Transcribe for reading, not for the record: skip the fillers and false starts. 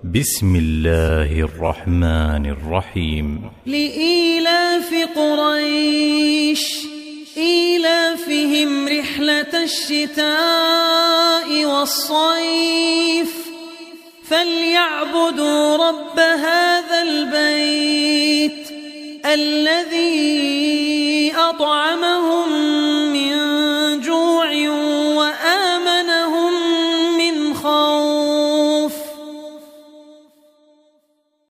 بسم الله الرحمن الرحيم. لإيلاف قريش إيلافهم رحلة الشتاء والصيف فليعبدوا رب هذا البيت الذي